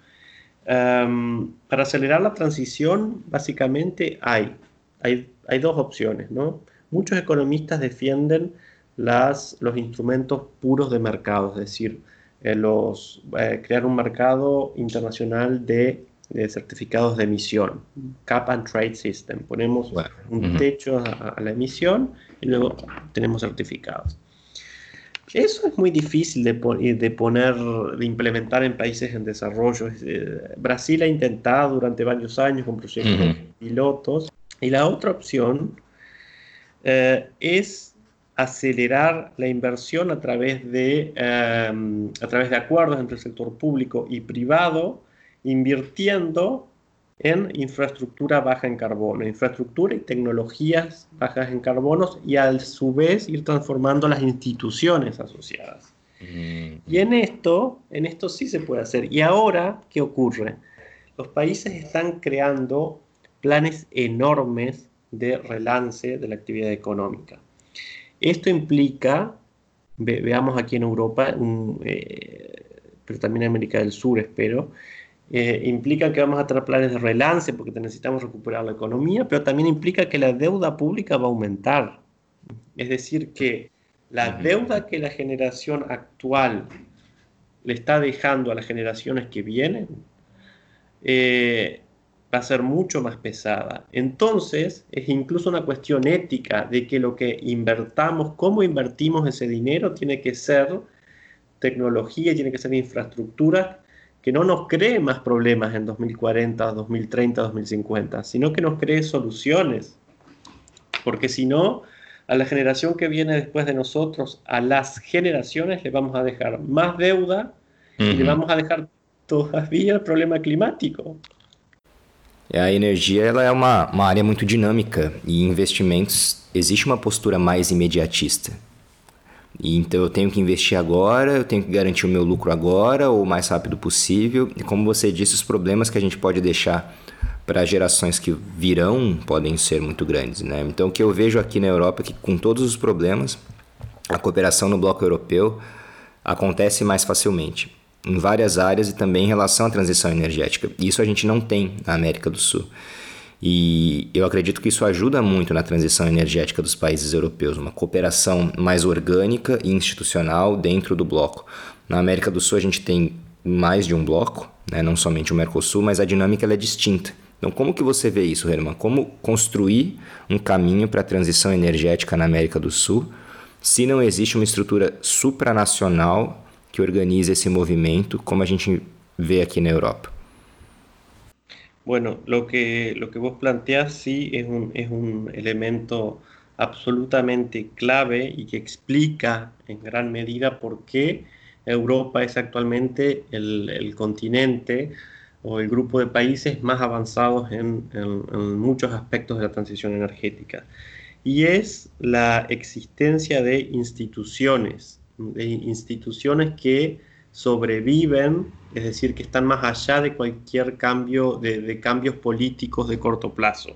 Um, para acelerar la transición, básicamente hay, hay, hay dos opciones, ¿no? Muchos economistas defienden las, los instrumentos puros de mercado, es decir, eh, los, eh, crear un mercado internacional de, de certificados de emisión, Cap and Trade System. Ponemos bueno, un uh-huh. techo a, a la emisión y luego tenemos certificados. Eso es muy difícil de, de poner, de implementar en países en desarrollo. Brasil ha intentado durante varios años con proyectos uh-huh. pilotos. Y la otra opción eh, es acelerar la inversión a través de, um, a través de acuerdos entre el sector público y privado, invirtiendo en infraestructura baja en carbono, infraestructura y tecnologías bajas en carbono, y a su vez ir transformando las instituciones asociadas. Mm-hmm. Y en esto, en esto sí se puede hacer. Y ahora, ¿qué ocurre? Los países están creando planes enormes de relance de la actividad económica. Esto implica, ve, veamos aquí en Europa, un, eh, pero también en América del Sur, espero, Eh, implica que vamos a tener planes de relance porque necesitamos recuperar la economía, pero también implica que la deuda pública va a aumentar. Es decir, que la deuda que la generación actual le está dejando a las generaciones que vienen eh, va a ser mucho más pesada. Entonces, es incluso una cuestión ética de que lo que invertamos, cómo invertimos ese dinero, tiene que ser tecnología, tiene que ser infraestructura que no nos cree más problemas en dos mil cuarenta, dos mil treinta, dos mil cincuenta, sino que nos cree soluciones. Porque si no, a la generación que viene después de nosotros, a las generaciones le vamos a dejar más deuda uh-huh. y le vamos a dejar todavía el problema climático. A energia ela é uma, uma área muito dinâmica e em investimentos existe uma postura mais imediatista. E então eu tenho que investir agora, eu tenho que garantir o meu lucro agora ou o mais rápido possível. E como você disse, os problemas que a gente pode deixar para gerações que virão podem ser muito grandes, né? Então o que eu vejo aqui na Europa é que com todos os problemas, a cooperação no bloco europeu acontece mais facilmente. em várias áreas e também em relação à transição energética. Isso a gente não tem na América do Sul. E eu acredito que isso ajuda muito na transição energética dos países europeus, uma cooperação mais orgânica e institucional dentro do bloco. Na América do Sul a gente tem mais de um bloco, né? Não somente o Mercosul, mas a dinâmica ela é distinta. Então como que você vê isso, Herman? Como construir um caminho para a transição energética na América do Sul se não existe uma estrutura supranacional que organize esse movimento como a gente vê aqui na Europa? Bueno, lo que, lo que vos planteás sí es un, es un elemento absolutamente clave y que explica en gran medida por qué Europa es actualmente el, el continente o el grupo de países más avanzados en, en, en muchos aspectos de la transición energética. Y es la existencia de instituciones, de instituciones que sobreviven, es decir, que están más allá de cualquier cambio, de, de cambios políticos de corto plazo.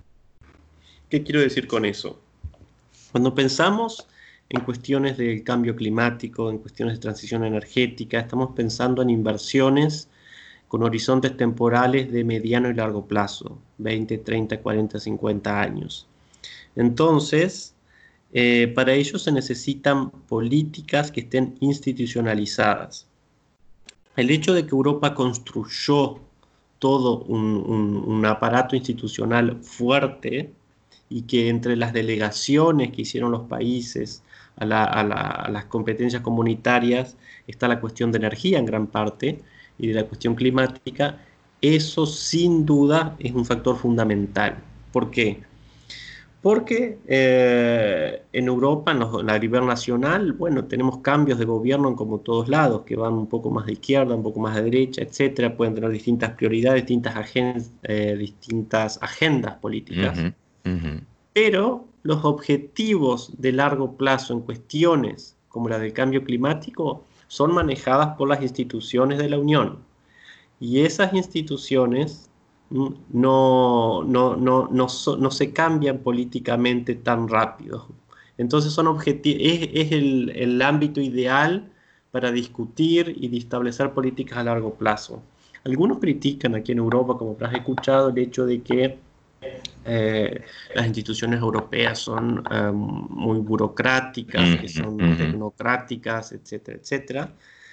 ¿Qué quiero decir con eso? Cuando pensamos en cuestiones del cambio climático, en cuestiones de transición energética, estamos pensando en inversiones con horizontes temporales de mediano y largo plazo, veinte, treinta, cuarenta, cincuenta años. Entonces, Eh, para ello se necesitan políticas que estén institucionalizadas. El hecho de que Europa construyó todo un, un, un aparato institucional fuerte y que entre las delegaciones que hicieron los países a, la, a, la, a las competencias comunitarias está la cuestión de energía en gran parte y de la cuestión climática, eso sin duda es un factor fundamental. ¿Por qué? Porque eh, en Europa, en, los, en la nivel nacional, bueno, tenemos cambios de gobierno en como todos lados, que van un poco más de izquierda, un poco más de derecha, etcétera. Pueden tener distintas prioridades, distintas, agen eh, distintas agendas políticas. Uh-huh, uh-huh. Pero los objetivos de largo plazo en cuestiones como la del cambio climático son manejadas por las instituciones de la Unión. Y esas instituciones no, no, no, no, so, no se cambian políticamente tan rápido. Entonces son objetivos, es, es el, el ámbito ideal para discutir y de establecer políticas a largo plazo. Algunos critican aquí en Europa, como habrás escuchado, el hecho de que eh, las instituciones europeas son eh, muy burocráticas, que son uh-huh. tecnocráticas, etcétera, etcétera.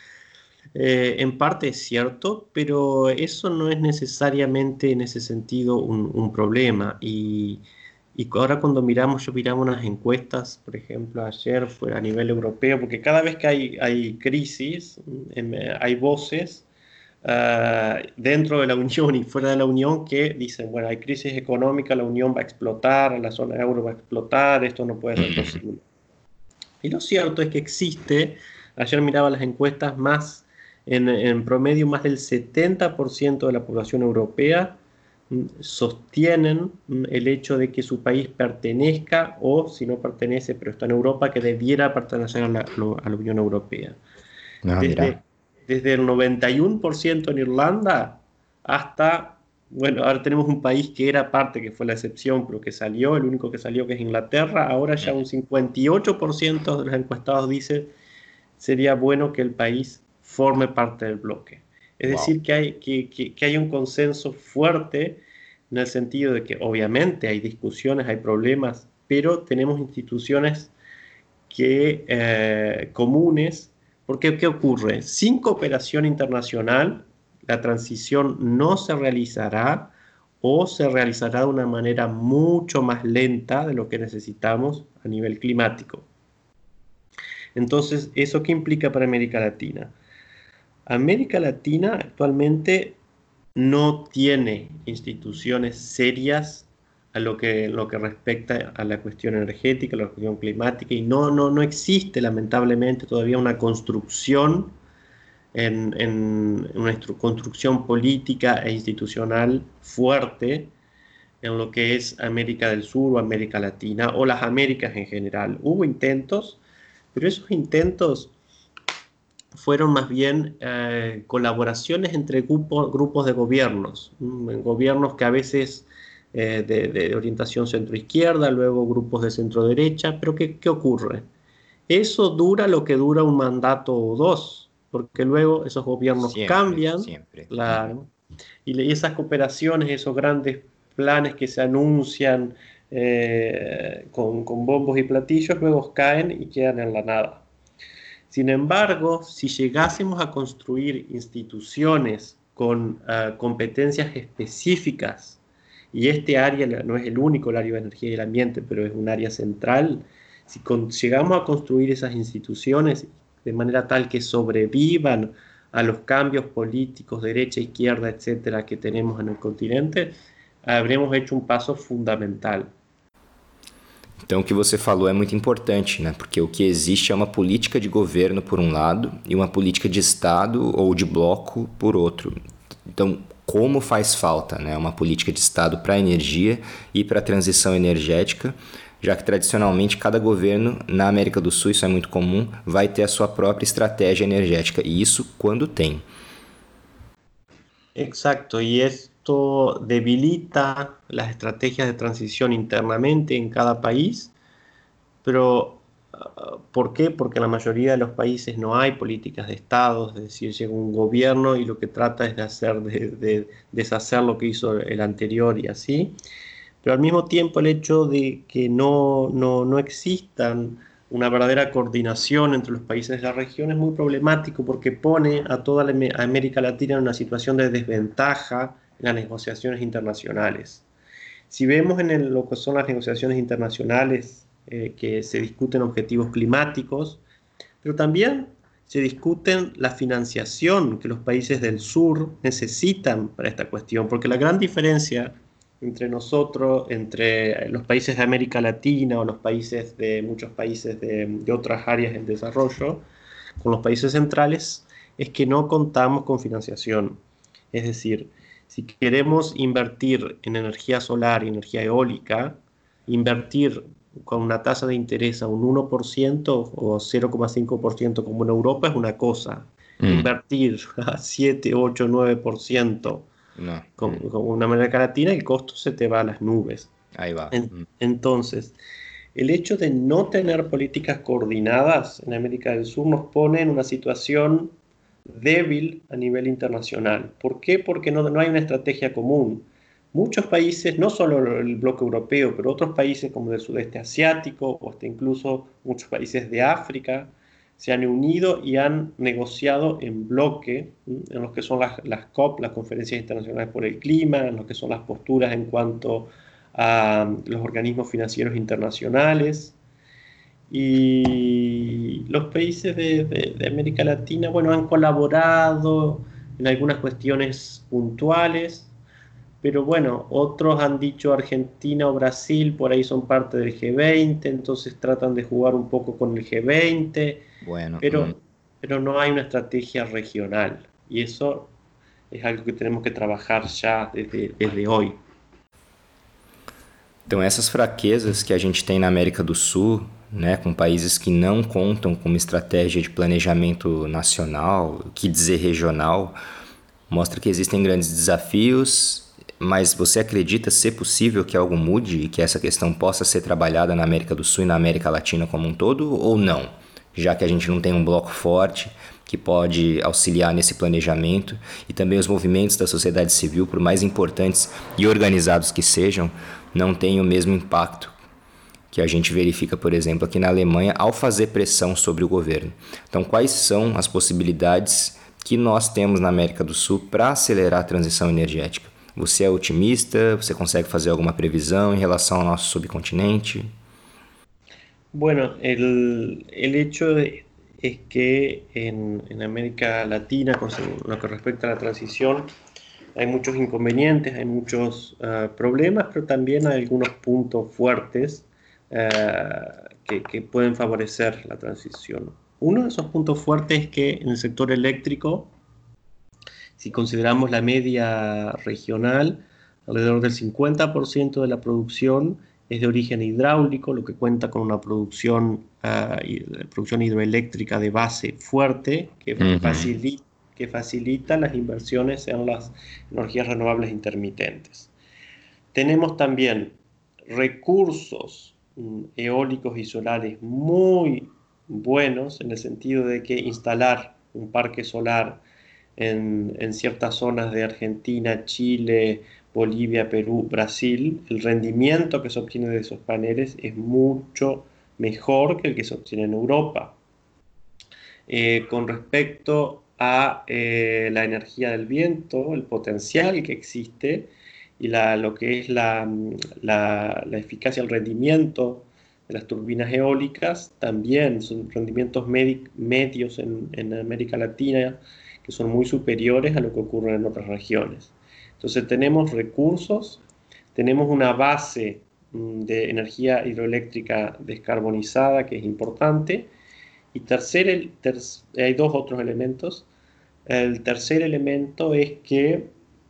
Eh, en parte es cierto, pero eso no es necesariamente en ese sentido un, un problema. Y, y ahora cuando miramos, yo miramos unas encuestas, por ejemplo, ayer fue a nivel europeo, porque cada vez que hay, hay crisis, hay voces uh, dentro de la Unión y fuera de la Unión que dicen, bueno, hay crisis económica, la Unión va a explotar, la zona euro va a explotar, esto no puede ser posible. Y lo cierto es que existe, ayer miraba las encuestas, más En, en promedio más del setenta por ciento de la población europea sostienen el hecho de que su país pertenezca o, si no pertenece, pero está en Europa, que debiera pertenecer a la, a la Unión Europea. No, desde, desde el noventa y uno por ciento en Irlanda hasta, bueno, ahora tenemos un país que era parte, que fue la excepción, pero que salió, el único que salió que es Inglaterra, ahora ya un cincuenta y ocho por ciento de los encuestados dice sería bueno que el país forme parte del bloque. Es wow. decir, que hay, que, que, que hay un consenso fuerte en el sentido de que obviamente hay discusiones, hay problemas, pero tenemos instituciones que, eh, comunes, porque ¿qué ocurre? Sin cooperación internacional, la transición no se realizará o se realizará de una manera mucho más lenta de lo que necesitamos a nivel climático. Entonces, ¿eso qué implica para América Latina? América Latina actualmente no tiene instituciones serias a lo que, lo que respecta a la cuestión energética, a la cuestión climática, y no, no, no existe lamentablemente todavía una construcción, en, en una construcción política e institucional fuerte en lo que es América del Sur o América Latina, o las Américas en general. Hubo intentos, pero esos intentos fueron más bien eh, colaboraciones entre grupo, grupos de gobiernos, mm, gobiernos que a veces eh, de, de orientación centro-izquierda, luego grupos de centro-derecha, pero ¿qué, qué ocurre? Eso dura lo que dura un mandato o dos, porque luego esos gobiernos Siempre, cambian, siempre. Ujú. claro, y, y esas cooperaciones, esos grandes planes que se anuncian eh, con, con bombos y platillos, luego caen y quedan en la nada. Sin embargo, si llegásemos a construir instituciones con uh, competencias específicas, y este área no es el único, el área de energía y el ambiente, pero es un área central, si con, llegamos a construir esas instituciones de manera tal que sobrevivan a los cambios políticos, derecha, izquierda, etcétera, que tenemos en el continente, habremos hecho un paso fundamental. Então, o que você falou é muito importante, né? Porque o que existe é uma política de governo por um lado e uma política de Estado ou de bloco por outro. Então, como faz falta, né, uma política de Estado para a energia e para a transição energética, já que tradicionalmente cada governo na América do Sul, isso é muito comum, vai ter a sua própria estratégia energética, e isso quando tem. Exacto, y esto debilita las estrategias de transición internamente en cada país, pero uh, ¿por qué? Porque en la mayoría de los países no hay políticas de Estado, es decir, llega un gobierno y lo que trata es de hacer, de, de deshacer lo que hizo el anterior y así, pero al mismo tiempo el hecho de que no, no, no existan una verdadera coordinación entre los países de la región es muy problemático porque pone a toda la América Latina en una situación de desventaja en las negociaciones internacionales. Si vemos en el, lo que son las negociaciones internacionales, eh, que se discuten objetivos climáticos, pero también se discuten la financiación que los países del sur necesitan para esta cuestión, porque la gran diferencia entre nosotros, entre los países de América Latina o los países de muchos países de, de otras áreas en desarrollo, con los países centrales, es que no contamos con financiación. Es decir, si queremos invertir en energía solar y energía eólica, invertir con una tasa de interés a un uno por ciento o cero coma cinco por ciento como en Europa es una cosa. Mm. Invertir a siete, ocho, nueve por ciento No. con, mm. con una América Latina, el costo se te va a las nubes. Ahí va. En, Mm. Entonces, el hecho de no tener políticas coordinadas en América del Sur nos pone en una situación débil a nivel internacional. ¿Por qué? Porque no, no hay una estrategia común. Muchos países, no solo el bloque europeo, pero otros países como del sudeste asiático o hasta incluso muchos países de África, se han unido y han negociado en bloque, en lo que son las, las COP, las Conferencias Internacionales por el Clima, en lo que son las posturas en cuanto a los organismos financieros internacionales. Y los países de, de, de América Latina, bueno, han colaborado en algunas cuestiones puntuales, pero bueno, otros han dicho Argentina o Brasil, por ahí son parte del G veinte, entonces tratan de jugar un poco con el G veinte, bueno, pero, mm. pero no hay una estrategia regional, y eso es algo que tenemos que trabajar ya desde, desde hoy. Então, essas fraquezas que a gente tem na América do Sul, né, com países que não contam com uma estratégia de planejamento nacional, que dizer regional, mostra que existem grandes desafios, mas você acredita ser possível que algo mude e que essa questão possa ser trabalhada na América do Sul e na América Latina como um todo, ou não? Já que a gente não tem um bloco forte que pode auxiliar nesse planejamento e também os movimentos da sociedade civil, por mais importantes e organizados que sejam, não têm o mesmo impacto que a gente verifica, por exemplo, aqui na Alemanha, ao fazer pressão sobre o governo. Então, quais são as possibilidades que nós temos na América do Sul para acelerar a transição energética? Você é otimista? Você consegue fazer alguma previsão em relação ao nosso subcontinente? Bueno, el, el hecho de, es que en, en América Latina, con lo que respecta a la transición, hay muchos inconvenientes, hay muchos uh, problemas, pero también hay algunos puntos fuertes uh, que, que pueden favorecer la transición. Uno de esos puntos fuertes es que en el sector eléctrico, si consideramos la media regional, alrededor del cincuenta por ciento de la producción es de origen hidráulico, lo que cuenta con una producción, uh, producción hidroeléctrica de base fuerte que, uh-huh. facilita, que facilita las inversiones en las energías renovables intermitentes. Tenemos también recursos um, eólicos y solares muy buenos, en el sentido de que instalar un parque solar en, en ciertas zonas de Argentina, Chile, Bolivia, Perú, Brasil, el rendimiento que se obtiene de esos paneles es mucho mejor que el que se obtiene en Europa. Eh, con respecto a eh, la energía del viento, el potencial que existe y la, lo que es la, la, la eficacia, el rendimiento de las turbinas eólicas, también son rendimientos medi medios en, en América Latina que son muy superiores a lo que ocurre en otras regiones. Entonces tenemos recursos, tenemos una base de energía hidroeléctrica descarbonizada que es importante. Y tercer, el ter hay dos otros elementos. El tercer elemento es que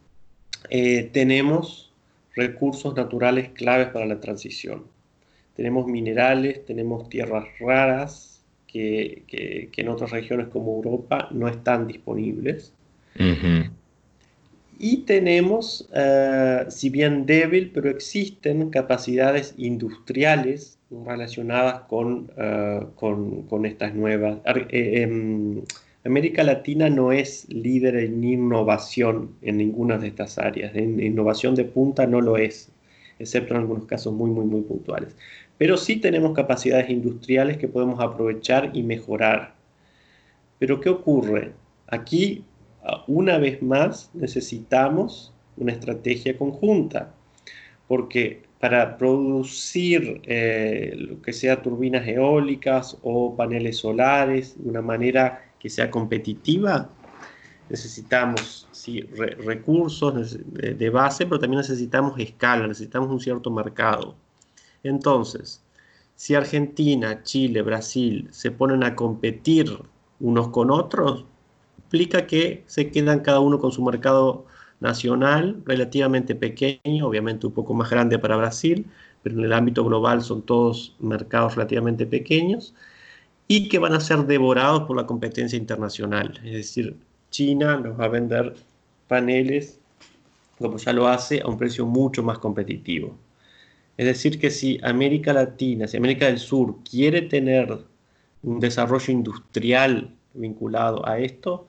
eh, tenemos recursos naturales claves para la transición. Tenemos minerales, tenemos tierras raras que, que, que en otras regiones como Europa no están disponibles. Uhum. Y tenemos, uh, si bien débil, pero existen capacidades industriales relacionadas con, uh, con, con estas nuevas. Eh, eh, América Latina no es líder en innovación en ninguna de estas áreas. En innovación de punta no lo es, excepto en algunos casos muy, muy, muy puntuales. Pero sí tenemos capacidades industriales que podemos aprovechar y mejorar. Pero ¿qué ocurre? Aquí, una vez más, necesitamos una estrategia conjunta, porque para producir eh, lo que sea turbinas eólicas o paneles solares de una manera que sea competitiva, necesitamos sí, re recursos de, de base, pero también necesitamos escala, necesitamos un cierto mercado. Entonces, si Argentina, Chile, Brasil se ponen a competir unos con otros, implica que se quedan cada uno con su mercado nacional relativamente pequeño, obviamente un poco más grande para Brasil, pero en el ámbito global son todos mercados relativamente pequeños, y que van a ser devorados por la competencia internacional. Es decir, China nos va a vender paneles, como ya lo hace, a un precio mucho más competitivo. Es decir, que si América Latina, si América del Sur quiere tener un desarrollo industrial vinculado a esto,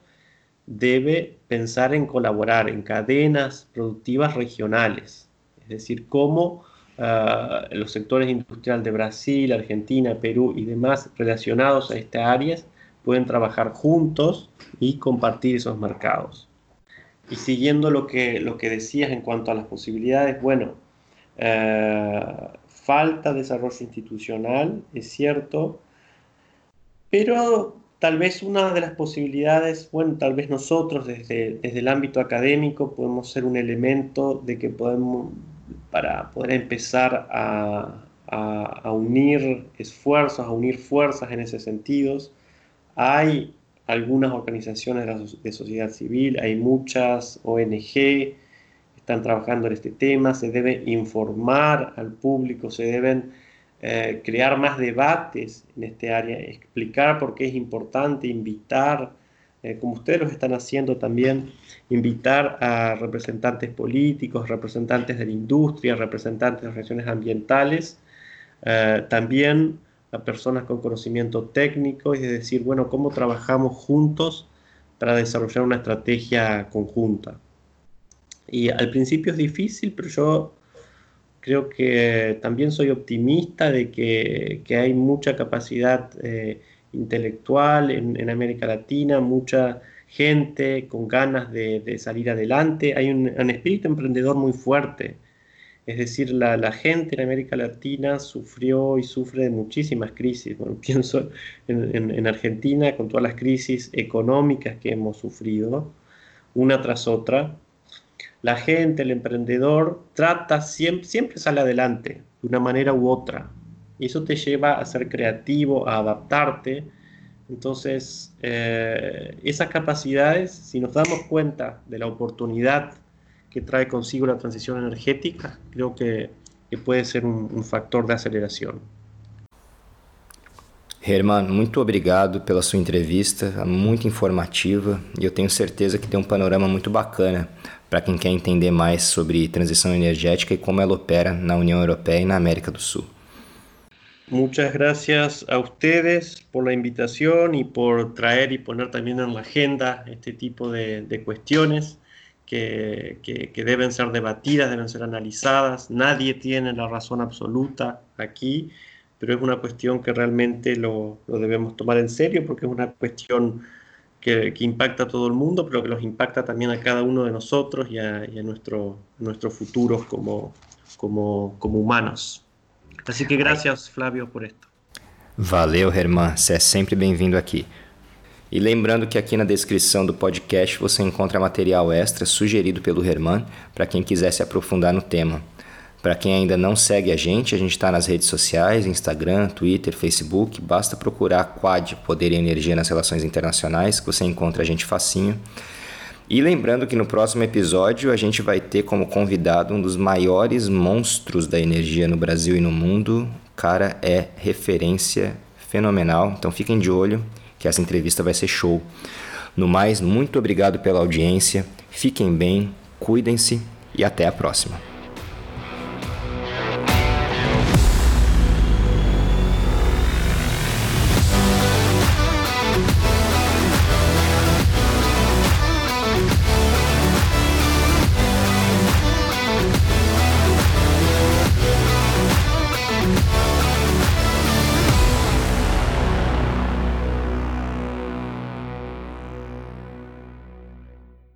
debe pensar en colaborar en cadenas productivas regionales. Es decir, cómo uh, los sectores industriales de Brasil, Argentina, Perú y demás relacionados a estas áreas pueden trabajar juntos y compartir esos mercados. Y siguiendo lo que, lo que decías en cuanto a las posibilidades, bueno, Uh, falta desarrollo institucional, es cierto, pero tal vez una de las posibilidades, bueno, tal vez nosotros desde, desde el ámbito académico podemos ser un elemento de que podemos, para poder empezar a, a, a unir esfuerzos, a unir fuerzas en ese sentido. Hay algunas organizaciones de, la, de sociedad civil, hay muchas O N G, están trabajando en este tema, se debe informar al público, se deben eh, crear más debates en este área, explicar por qué es importante, invitar, eh, como ustedes lo están haciendo también, invitar a representantes políticos, representantes de la industria, representantes de relaciones ambientales, eh, también a personas con conocimiento técnico, es decir, bueno, cómo trabajamos juntos para desarrollar una estrategia conjunta. Y al principio es difícil, pero yo creo que también soy optimista de que, que hay mucha capacidad eh, intelectual en, en América Latina, mucha gente con ganas de, de salir adelante. Hay un, un espíritu emprendedor muy fuerte. Es decir, la, la gente en América Latina sufrió y sufre de muchísimas crisis. Bueno, pienso en, en, en Argentina con todas las crisis económicas que hemos sufrido, una tras otra. La gente, el emprendedor, trata, siempre, siempre sale adelante, de una manera u otra. Y eso te lleva a ser creativo, a adaptarte. Entonces, eh, esas capacidades, si nos damos cuenta de la oportunidad que trae consigo la transición energética, creo que, que puede ser un, un factor de aceleración. Herman, muito obrigado pela sua entrevista, muito informativa, e eu tenho certeza que tem um panorama muito bacana para quem quer entender mais sobre transição energética e como ela opera na União Europeia e na América do Sul. Muchas gracias a ustedes por la invitación y por traer y poner también en la agenda este tipo de, de cuestiones que, que, que deben ser debatidas, deben ser analizadas. Nadie tiene la razón absoluta aquí, pero es una cuestión que realmente lo, lo debemos tomar en serio porque es una cuestión que, que impacta a todo el mundo, pero que nos impacta también a cada uno de nosotros y a, y a nuestro, nuestros futuros como, como, como humanos. Así que gracias, Flávio, por esto. Valeu, Herman. Você é sempre bem-vindo aqui. E lembrando que aqui na descrição do podcast você encontra material extra sugerido pelo Herman para quem quiser se aprofundar no tema. Para quem ainda não segue a gente, a gente está nas redes sociais, Instagram, Twitter, Facebook. Basta procurar Quad, Poder e Energia nas Relações Internacionais, que você encontra a gente facinho. E lembrando que no próximo episódio a gente vai ter como convidado um dos maiores monstros da energia no Brasil e no mundo. O cara é referência fenomenal, então fiquem de olho que essa entrevista vai ser show. No mais, muito obrigado pela audiência, fiquem bem, cuidem-se e até a próxima.